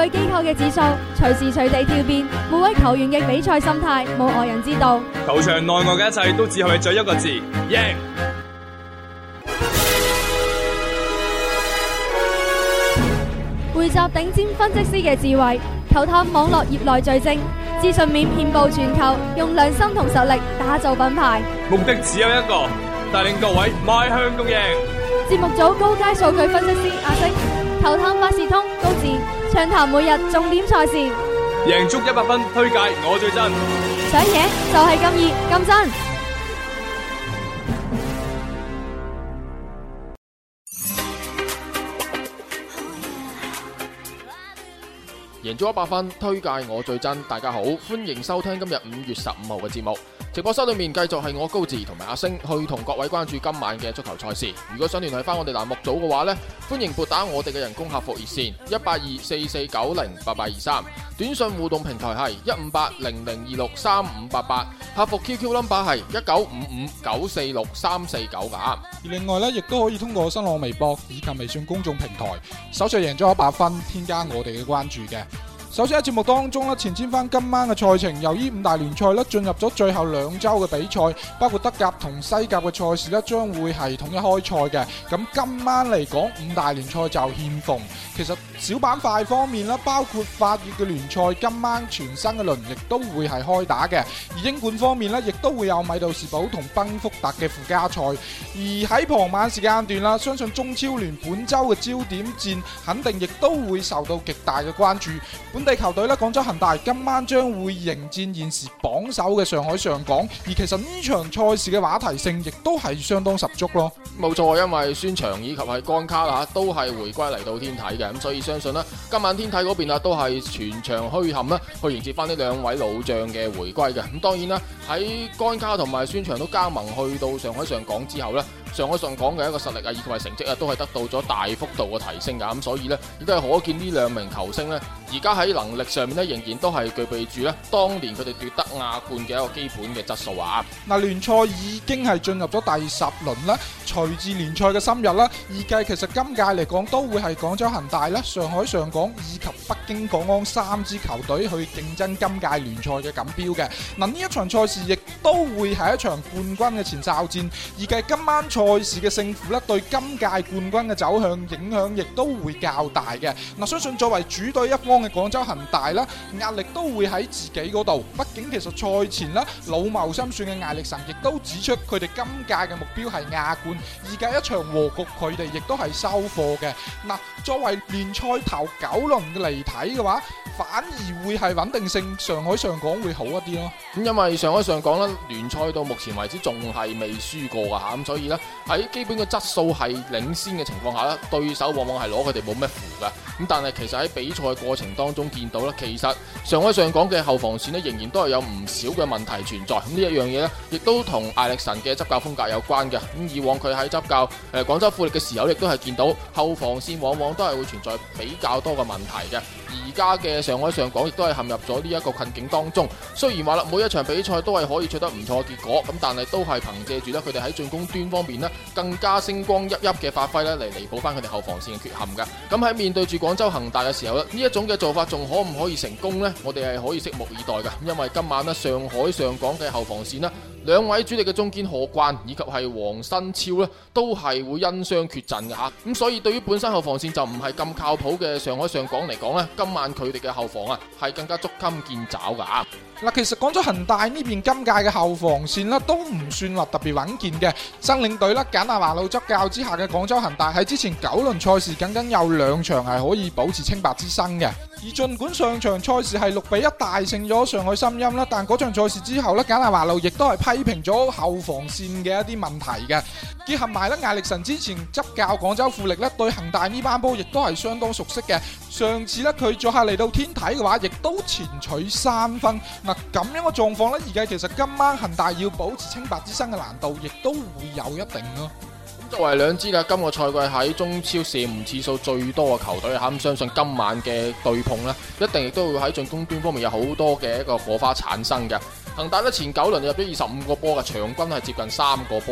據機構嘅指數，隨時隨地跳變，每位球員嘅比賽心態冇外人知道。 球場內外嘅一切都只係為咗一個字：贏。 匯集頂尖分析師嘅智慧，球探網絡業內最精，資訊面遍佈全球，用良心同實力打造品牌。 目的只有一個，帶領各位邁向共贏。 節目組高階數據分析師阿星，球探百事通高智，暢談每日重點賽事， 贏足100分，推介我最真， 想贏就係咁易咁真。 贏足100分，推介我最真。大家好，歡迎收聽今日5月15號嘅節目。直播室裏面繼續係我高志同埋阿星去同各位關注今晚嘅足球賽事。如果想聯繫翻我哋欄目組嘅話呢，歡迎撥打我哋嘅人工客服熱線18244908823，短信互動平台係15800263588，客服 QQ number 係1955946349噶。 而另外呢，亦都可以通過新浪微博以及微信公眾平台搜索贏足100分，添加我哋嘅關注嘅。首先喺節目當中咧，前瞻翻今晚嘅賽程，由於5大聯賽咧進入咗最後2周嘅比賽，包括德甲同西甲嘅賽事咧將會係統一開賽嘅。咁今晚嚟講，5大聯賽就欠奉。其實小板塊方面啦，包括法乙嘅聯賽，今晚全新嘅輪亦都會係開打嘅。而英冠方面咧，亦都會有米杜士堡同賓福特嘅附加賽。而喺傍晚時間段啦，相信中超聯本周嘅焦點戰肯定亦都會受到極大嘅關注。本地球隊咧，廣州恒大今晚將會迎戰現時榜首嘅上海上港，而其實呢場賽事嘅話題性亦都係相當十足咯。 冇錯，因為孫祥以及係江卡啦，都係回歸嚟到天體嘅，咁所以相信啦，今晚天體嗰邊啊都係全場虛撼啦，去迎接翻呢兩位老將嘅回歸嘅。咁當然啦，喺江卡同埋孫祥都加盟去到上海上港之後呢，上海上港嘅一個實力啊，以及係成績啊，都係得到咗大幅度嘅提升噶。咁所以呢，亦都係可見呢兩名球星呢，而家喺能力上面呢，仍然都係具備住呢當年佢哋奪得亞冠嘅一個基本嘅質素啊。 嗱，聯賽已經係進入咗第10輪啦，隨住聯賽嘅深入啦，預計其實今屆嚟講都會係廣州恒大啦、上海上港以及北京國安3支球隊去競爭今屆聯賽嘅錦標嘅。嗱，呢一場賽事亦都會係一場冠軍嘅前哨戰，預計今晚賽事嘅勝負咧，對今屆冠軍嘅走向影響亦都會較大嘅。嗱，相信作為主隊一方嘅廣州恒大啦，壓力都會喺自己嗰度。畢竟其實賽前啦，老謀深算嘅艾力神亦都指出，佢哋今屆嘅目標係亞冠，而家一場和局，佢哋亦都係收貨嘅。嗱，作為聯賽頭9輪嘅嚟睇嘅話，反而會係穩定性上海上港會好一啲咯。 咁因為上海上港咧，聯賽到目前為止仲係未輸過噶吓，咁所以呢，喺基本嘅質素係領先嘅情況下咧，對手往往係攞佢哋冇咩符噶。咁但係其實喺比賽過程當中見到咧，其實上海上港嘅後防線咧仍然都係有唔少嘅問題存在。咁呢一樣嘢咧，亦都同艾力神嘅執教風格有關嘅。咁以往佢喺執教廣州富力嘅時候，亦都係見到後防線往往都係會存在比較多嘅問題嘅。而家嘅上海上港亦都係陷入咗呢一個困境當中。雖然話啦，每一場比賽都係可以取得唔錯嘅結果，咁但係都係憑借住咧佢哋喺進攻端方面咧更加星光熠熠嘅發揮咧嚟彌補翻佢哋後防線嘅缺陷嘅。咁喺面對住廣州恒大嘅時候咧，呢一種嘅做法仲可唔可以成功呢？我哋係可以拭目以待嘅。因為今晚咧上海上港嘅後防線咧，兩位主力嘅中堅何冠以及係黃新超咧，都係會因傷缺陣嘅吓。咁所以對於本身後防線就唔係咁靠譜嘅上海上港嚟講咧，今晚佢哋嘅後防啊係更加捉襟見肘噶。 嗱，其實廣州恒大呢邊今屆嘅後防線咧都唔算話特別穩健嘅。新領隊啦，簡拿華路執教之下嘅廣州恒大喺之前9輪賽事僅僅有2場係可以保持清白之身嘅。而盡管上場賽事係6-1大勝咗上海申鑫啦，但嗰場賽事之後咧，簡拿華路亦都係批評咗後防線嘅一啲問題嘅。結合埋咧艾力神之前執教廣州富力咧，對恒大呢班波亦都係相當熟悉嘅。上次咧佢作客嚟到天體嘅話，亦都前取3分。嗱，咁樣嘅狀況咧，而家其實今晚恒大要保持清白之身嘅難度，亦都會有一定咯。 作為兩支嘅今個賽季喺中超射門次數最多嘅球隊吓，咁相信今晚嘅對碰呢，一定亦都會喺進攻端方面有好多嘅一個火花產生嘅。恒大呢前9輪入咗25個波嘅，場均係接近3個波嘅。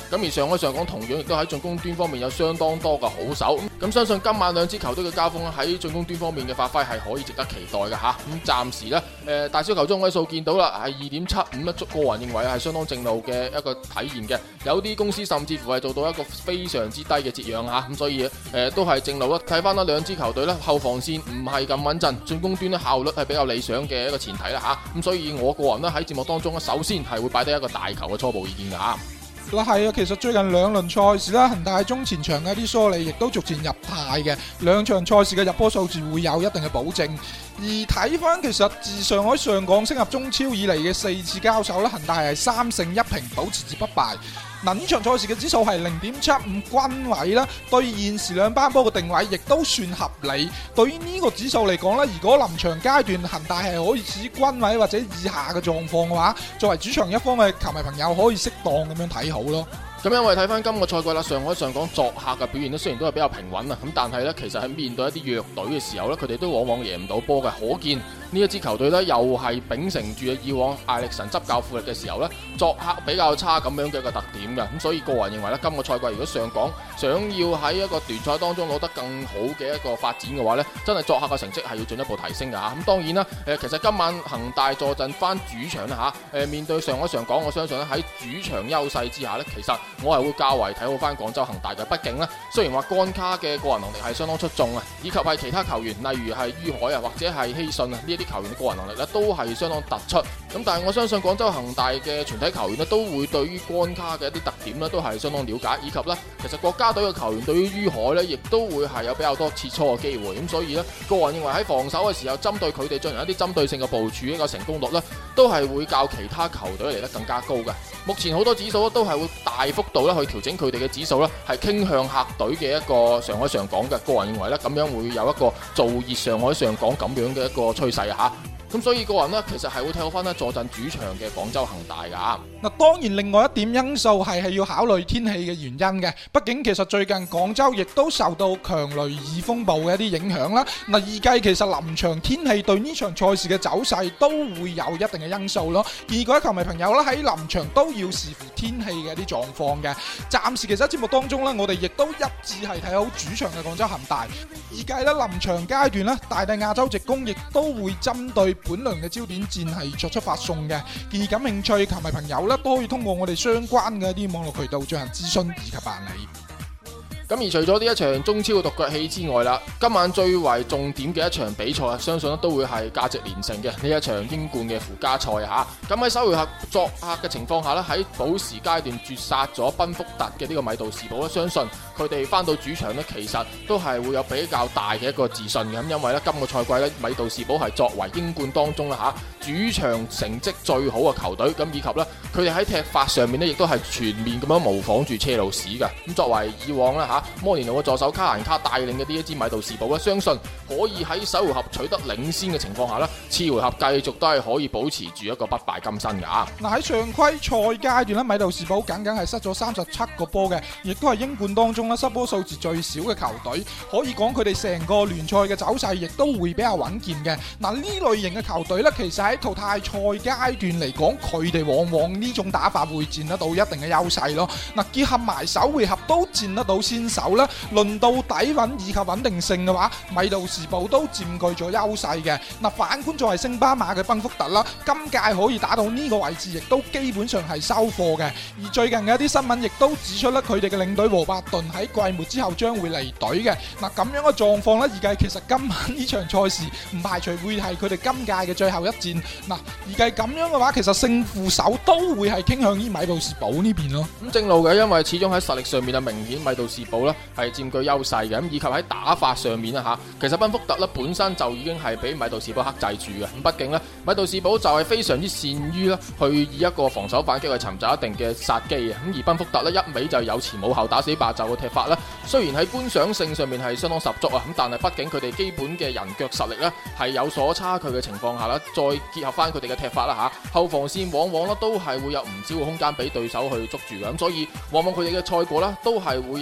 咁而上海上港同樣亦都喺進攻端方面有相當多嘅好手，咁相信今晚兩支球隊嘅交鋒喺進攻端方面嘅發揮係可以值得期待嘅吓。咁暫時呢，大小球中位數見到啦，係 2.75 啦，個人認為係相當正路嘅一個體現嘅。有啲公司甚至乎係做到一個非常之低嘅折讓吓，咁所以都係正路啦。睇翻啦，兩支球隊咧後防線唔係咁穩陣，進攻端咧效率係比較理想嘅一個前提啦吓。咁所以我個人咧喺節目當中咧，首先係會擺低一個大球嘅初步意見噶吓。 嗱係啊，其實最近兩輪賽事啦，恒大中前場嘅啲梳理亦都逐漸入態嘅，兩場賽事嘅入波數字會有一定嘅保證。而睇翻其實自上海上港升入中超以嚟嘅4次交手咧，恒大係3勝1平，保持至不敗。嗱，呢場賽事嘅指數係 0.75 均位啦，對現時兩班波嘅定位亦都算合理。對於呢個指數嚟講咧，如果臨場階段恒大係可以處於均位或者以下嘅狀況嘅話，作為主場一方嘅球迷朋友可以適當咁樣睇好咯。 咁因為睇翻今個賽季啦，上海上港作客嘅表現咧，雖然都係比較平穩啊，咁但係咧，其實喺面對一啲弱隊嘅時候咧，佢哋都往往贏唔到波嘅。可見呢一支球隊咧，又係秉承住以往艾力神執教富力嘅時候咧，作客比較差咁樣嘅一個特點嘅。咁所以個人認為咧，今個賽季如果上港想要喺一個聯賽當中攞得更好嘅一個發展嘅話咧，真係作客嘅成績係要進一步提升嘅嚇。咁當然啦，其實今晚恒大坐鎮翻主場啦嚇，面對上海上港，我相信咧喺主場優勢之下咧，其實我係會較為睇好翻廣州恒大嘅。畢竟咧，雖然話干卡嘅個人能力係相當出眾啊，以及係其他球員，例如係于海啊或者係希信啊呢一啲球員嘅個人能力咧，都係相當突出。咁但係我相信廣州恒大嘅全體球員咧，都會對於干卡嘅一啲特點咧，都係相當了解，以及咧，其實國家隊嘅球員對於于海咧，亦都會係有比較多切磋嘅機會。咁所以咧，個人認為喺防守嘅時候，針對佢哋進行一啲針對性嘅部署，呢個成功率咧，都係會較其他球隊嚟得更加高嘅。目前好多指數都係會大幅度咧去調整佢哋嘅指數咧，係傾向客隊嘅一個上海上港嘅。個人認為咧，咁樣會有一個造熱上海上港咁樣嘅一個趨勢嚇。咁所以個人呢，其實係會睇好翻呢坐鎮主場嘅廣州恒大噶。 嗱，當然另外一點因素係要考慮天氣嘅原因嘅。畢竟其實最近廣州亦都受到強雷雨風暴嘅一啲影響啦。嗱，預計其實臨場天氣對呢場賽事嘅走勢都會有一定嘅因素咯。而各位球迷朋友啦，喺臨場都要視乎天氣嘅一啲狀況嘅。暫時其實喺節目當中呢，我哋亦都一致係睇好主場嘅廣州恒大。預計咧臨場階段呢，大帝亞洲直攻亦都會針對本輪嘅焦點戰係作出發送嘅，建議感興趣球迷朋友咧都可以通過我哋相關嘅一啲網絡渠道進行諮詢以及辦理。 咁而除咗呢一場中超嘅獨腳戲之外啦，今晚最為重點嘅一場比賽，相信都會係價值連城嘅呢一場英冠嘅附加賽嚇。咁喺首回合作客嘅情況下咧，喺補時階段絕殺咗賓福特嘅呢個米杜士堡咧，相信佢哋翻到主場咧，其實都係會有比較大嘅一個自信嘅。咁因為咧今個賽季咧，米杜士堡係作為英冠當中啦主場成績最好嘅球隊，咁以及咧佢哋喺踢法上面咧，亦都係全面咁樣模仿住車路士嘅。咁作為以往啦摩連奴嘅助手卡蘭卡帶領嘅呢一支米杜士堡咧，相信可以喺首回合取得領先嘅情況下咧，次回合繼續都係可以保持住一個不敗金身㗎。 嗱，喺常規賽階段咧，米杜士堡僅僅係失咗37個波嘅，亦都係英冠當中咧失波數字最少嘅球隊。可以講佢哋成個聯賽嘅走勢亦都會比較穩健嘅。嗱，呢類型嘅球隊咧，其實喺淘汰賽階段嚟講，佢哋往往呢種打法會佔得到一定嘅優勢咯。嗱，結合埋首回合都佔得到先手啦，輪到底蘊以及穩定性嘅話，米杜士堡都佔據咗優勢嘅。嗱，反觀作為星巴馬嘅賓福特啦，今屆可以打到呢個位置，亦都基本上係收貨嘅。而最近嘅一啲新聞亦都指出咧，佢哋嘅領隊和伯頓喺季末之後將會離隊嘅。嗱，咁樣嘅狀況咧，預計其實今晚呢場賽事唔排除會係佢哋今屆嘅最後一戰。嗱，預計咁樣嘅話，其實勝負手都會係傾向於米杜士堡呢邊咯。 咁正路嘅，因為始終喺實力上面啊，明顯米杜士堡咧係佔據優勢嘅。咁以及喺打法上面啦其實賓福特咧本身就已經係俾米杜士堡克制住嘅。咁畢竟咧，米杜士堡就係非常之善於咧去以一個防守反擊去尋找一定嘅殺機嘅。咁而賓福特咧一味就有前冇後打死霸就嘅踢法咧，雖然喺觀賞性上面係相當十足啊，咁但係畢竟佢哋基本嘅人腳實力咧係有所差距嘅情況下啦，再結合翻佢哋嘅踢法啦後防線往往咧都係會有唔少嘅空間俾對手去捉住嘅。咁所以往往佢哋嘅賽果咧都係會有相當之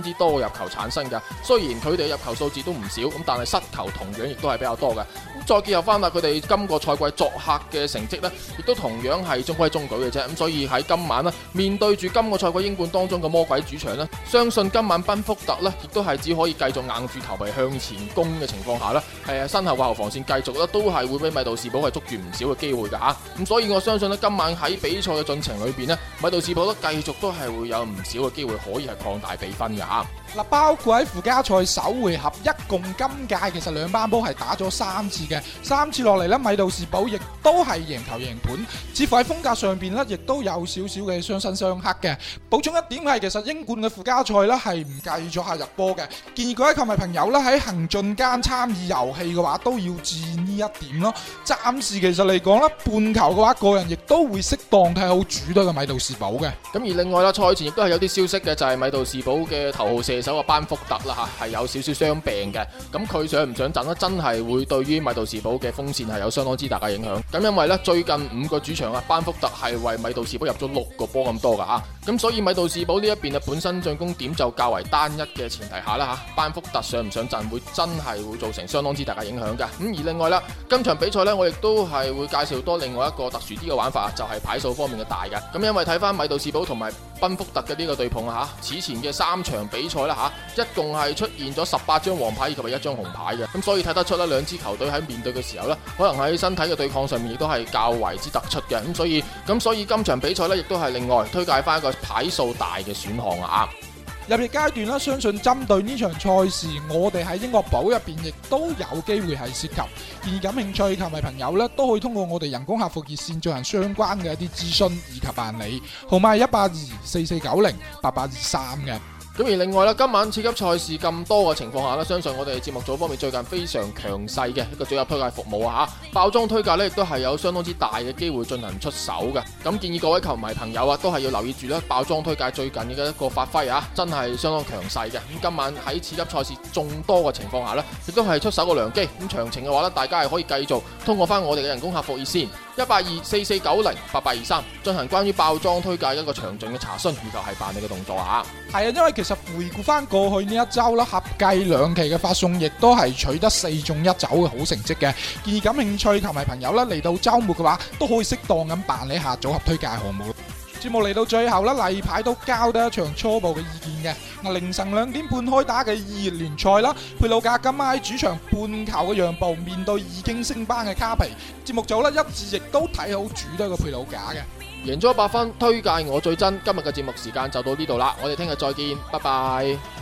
之多嘅入球產生㗎。雖然佢哋嘅入球數字都唔少，咁但係失球同樣亦都係比較多嘅。再結合翻啦，佢哋今個賽季作客嘅成績呢，亦都同樣係中規中矩嘅啫。咁所以喺今晚呢，面對住今個賽季英冠當中嘅魔鬼主場呢，相信今晚賓福特呢，亦都係只可以繼續硬住頭皮向前攻嘅情況下呢，身後嘅後防線繼續呢，都係會俾米杜士堡係捉住唔少嘅機會㗎嚇。咁所以我相信呢，今晚喺比賽嘅進程裏邊呢，米杜士堡繼續都係會有唔少嘅機會可以係擴大比分㗎嚇。 嗱，包括喺附加賽首回合，一共今屆其實兩班波係打咗3次嘅，3次落嚟呢，米杜士堡亦都係贏球贏盤，似乎喺風格上邊呢，亦都有少少嘅相生相克嘅。補充一點係，其實英冠嘅附加賽呢係唔計咗下入波嘅，建議各位球迷朋友呢，喺行進間參與遊戲嘅話，都要注意呢一點咯。暫時其實嚟講呢，半球嘅話，個人亦都會適當睇好主隊嘅米杜士堡嘅。 咁而另外啦，賽前亦都係有啲消息嘅，就係米杜士堡嘅頭號射手嘅班福特啦嚇，係有少少傷病嘅。咁佢上唔上陣呢？真係會對於米杜士堡嘅鋒線係有相當之大嘅影響。咁因為呢，最近5個主場啊，班福特係為米杜士堡入咗6個波咁多噶嚇。咁所以米杜士堡呢一邊啊，本身進攻點就較為單一嘅前提下啦嚇，班福特上唔上陣會真係會造成相當之大嘅影響嘅。咁而另外啦，今場比賽呢，我亦都係會介紹多另外一個特殊啲嘅玩法，就係牌數方面嘅大嘅。咁因為睇翻米杜士堡同埋賓福特嘅呢個對碰啊嚇，此前嘅3場比賽啦嚇，一共係出現咗18張黃牌以及1張紅牌嘅。咁所以睇得出啦，兩支球隊喺面對嘅時候呢，可能喺身體嘅對抗上面亦都係較為之突出嘅。咁所以今場比賽呢，亦都係另外推介翻一個牌數大嘅選項啊。 入夜階段啦，相信針對呢場賽事，我哋喺英國寶入邊亦都有機會係涉及。建議感興趣球迷朋友呢，都可以通過我哋人工客服熱線進行相關嘅一啲諮詢以及辦理，號碼係18244908823嘅。 咁而另外啦，今晚次級賽事咁多嘅情況下咧，相信我哋節目組方面最近非常強勢嘅一個組合推介服務啊嚇，爆莊推介呢亦都係有相當之大嘅機會進行出手嘅。咁建議各位球迷朋友啊，都係要留意住啦，爆莊推介最近嘅一個發揮啊，真係相當強勢嘅。咁今晚喺次級賽事眾多嘅情況下呢，亦都係出手個良機。咁詳情嘅話呢，大家係可以繼續通過翻我哋嘅人工客服熱線18244908823進行關於爆莊推介一個詳盡嘅查詢以及係辦理嘅動作啊。 係啊，因為其實回顧翻過去呢一周啦，合計2期嘅發送亦都係取得4中1走嘅好成績嘅。建議感興趣球迷朋友啦，嚟到周末嘅話，都可以適當咁辦理下組合推介項目。節目嚟到最後啦，例牌都交得一場初步嘅意見嘅。凌晨2點半開打嘅2熱聯賽啦，佩魯格今晚喺主場半球嘅讓步，面對已經升班嘅卡皮。節目組一致亦都睇好主隊嘅佩魯格嘅。 贏咗100分，推介我最真。今日嘅節目時間就到呢度啦，我哋聽日再見，拜拜。